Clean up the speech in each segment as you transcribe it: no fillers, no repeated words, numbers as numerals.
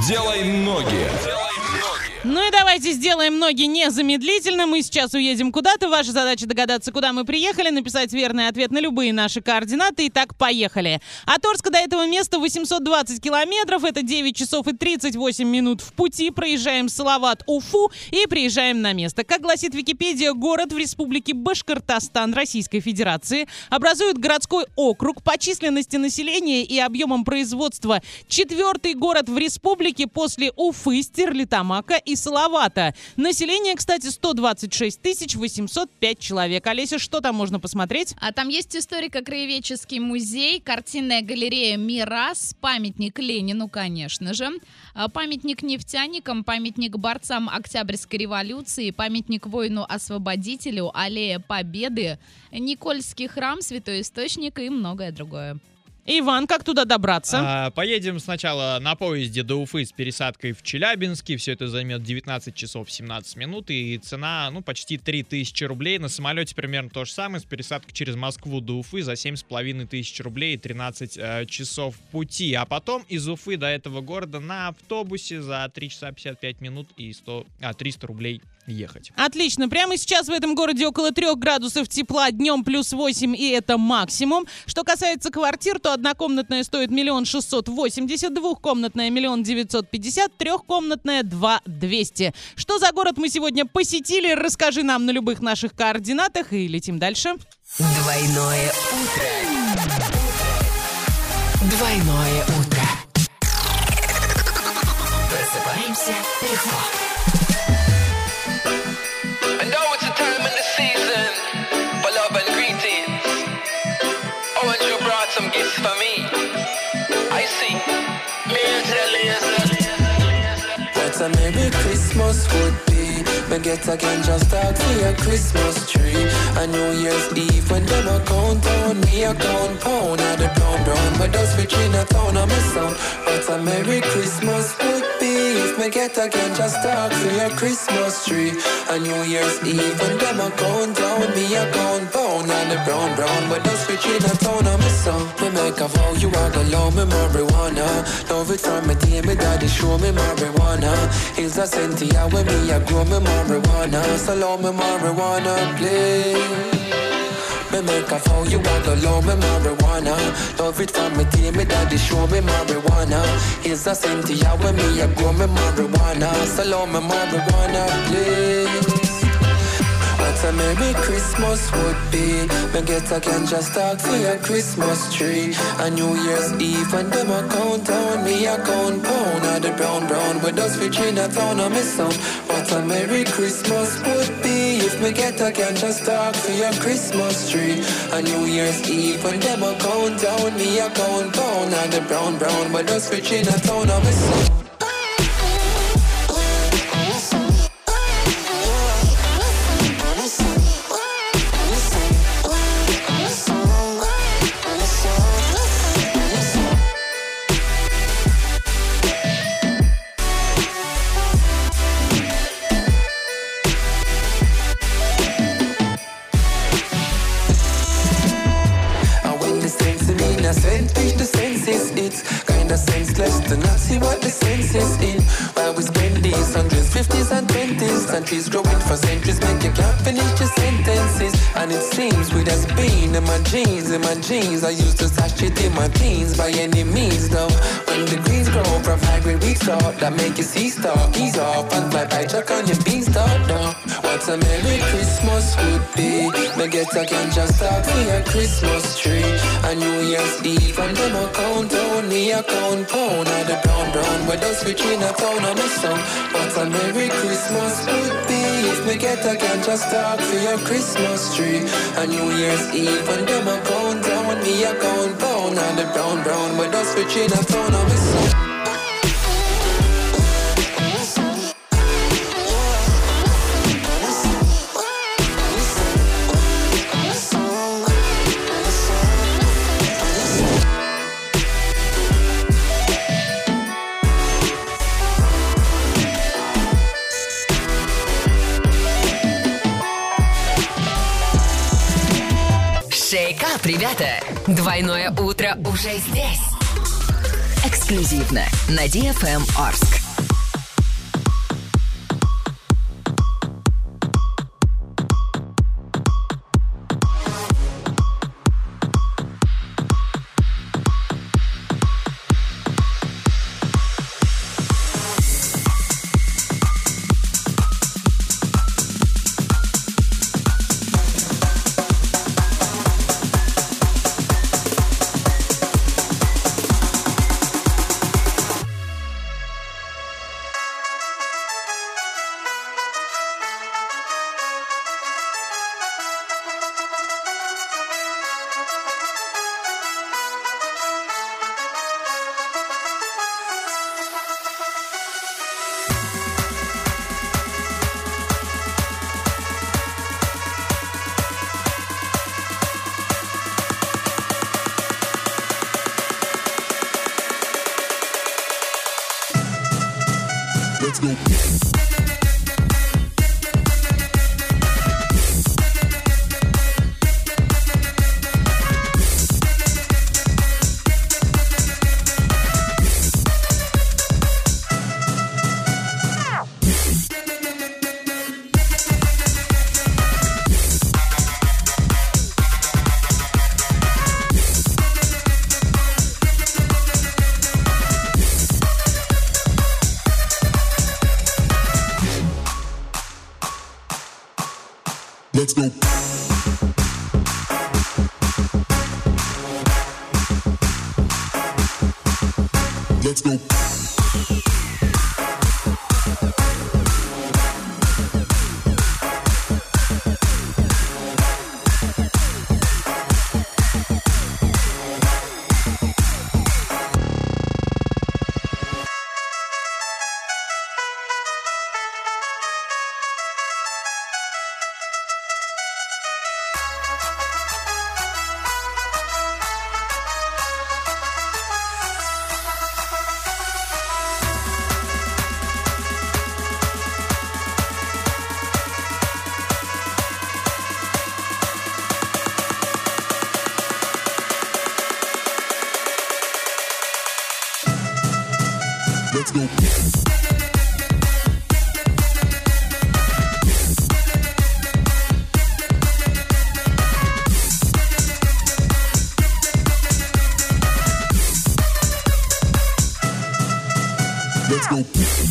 Делай ноги. Ну и давайте сделаем ноги незамедлительно. Мы сейчас уедем куда-то. Ваша задача догадаться, куда мы приехали, написать верный ответ на любые наши координаты. Итак, поехали. От Орска до этого места 820 километров. Это 9 часов и 38 минут в пути. Проезжаем Салават, Уфу и приезжаем на место. Как гласит Википедия, город в республике Башкортостан Российской Федерации образует городской округ по численности населения и объемом производства. 4-й город в республике после Уфы, Стерлитамака и Салавата. Население, кстати, 126 805 человек. Олеся, что там можно посмотреть? А там есть историко-краеведческий музей, картинная галерея «Мирас», памятник Ленину, конечно же, памятник нефтяникам, памятник борцам Октябрьской революции, памятник воину-освободителю, аллея Победы, Никольский храм, Святой Источник и многое другое. Иван, как туда добраться? Поедем сначала на поезде до Уфы с пересадкой в Челябинске. Все это займет 19 часов 17 минут. И цена, почти 3000 рублей. На самолете примерно то же самое. С пересадкой через Москву до Уфы за 7500 рублей и 13 часов пути. А потом из Уфы до этого города на автобусе за 3 часа 55 минут и 300 рублей ехать. Отлично. Прямо сейчас в этом городе около 3 градусов тепла, днем плюс 8, и это максимум. Что касается квартир, то однокомнатная стоит 1 680 000, двухкомнатная 1 950 000, трехкомнатная 2 200. Что за город мы сегодня посетили? Расскажи нам на любых наших координатах и летим дальше. Двойное утро. Двойное утро. Просыпаемся легко. Some gifts for me. I see. What a Merry Christmas would be. Me get again just talk for a Christmas tree. A New Year's Eve when them a count down, me a count pound at the brown. But those rich in a town on me sound. What a Merry Christmas would be. If me get again just talk for a Christmas tree. A New Year's Eve when them a count down, me a count pound at the brown. But those rich in a town on me sound. Me make a vow you are gonna love me marijuana. Love it from me day, me daddy show me marijuana. Hills a Cynthia when me a grow me marijuana. So love me marijuana, please. Me make a vow you are gonna love me marijuana. Love it from me day, me daddy show me marijuana. Hills a Cynthia when me a grow me marijuana. So love me marijuana, please. What a Merry Christmas would be. Me get again just talk for a Christmas tree. A New Year's Eve when them a count down, me a count pound at the brown. With us rich in a town on me sound. What a Merry Christmas would be. If me get again just talk for a Christmas tree. A New Year's Eve when them a count down, me a count pound at the brown. With us rich in a town on me sound. Sense reach the senses, it's kinda senseless to not see what the sense is in. While we spend these hundreds, 50s and 20s, countries growing for centuries, make you can't finish your sentences. And it seems with us being in my jeans, I used to stash it in my teens by any means though. When the greens grow from high grade wheat stock, that make you see stock, ease off and fly by check on your beanstalk now. What a Merry Christmas would be. Me get again just talk for a Christmas tree. A New Year's Eve and them a count down, me a count pound at the brown. With us rich in a town on me sound. What a Merry Christmas would be. If me get again just talk for a Christmas tree. A New Year's Eve and them a count down, me a count pound at the brown. With us rich in a town on me sound. Шейкап, ребята! Двойное утро уже здесь. Эксклюзивно на DFM Орск. Let's go. Let's go. Let's go. Let's go. Let's go.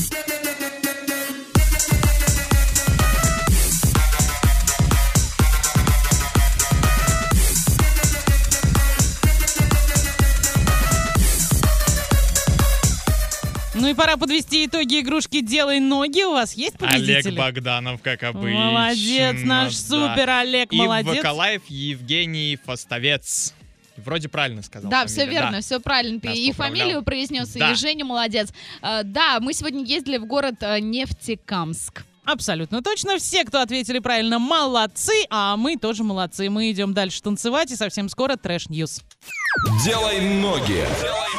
Ну и пора подвести итоги игрушки «Делай ноги». У вас есть победители? Олег Богданов, как обычно. Молодец, наш супер Олег, молодец. И Вакалаев Евгений Фастовец. Вроде правильно сказал. Да, фамилию. все верно, Да. все правильно. Ты Нас и поправлял. фамилию произнес, Да. и Женя молодец. Да, мы сегодня ездили в город Нефтекамск. Абсолютно точно. Все, кто ответили правильно, молодцы, а мы тоже молодцы. Мы идем дальше танцевать, и совсем скоро Трэш Ньюс. Делай ноги. Делай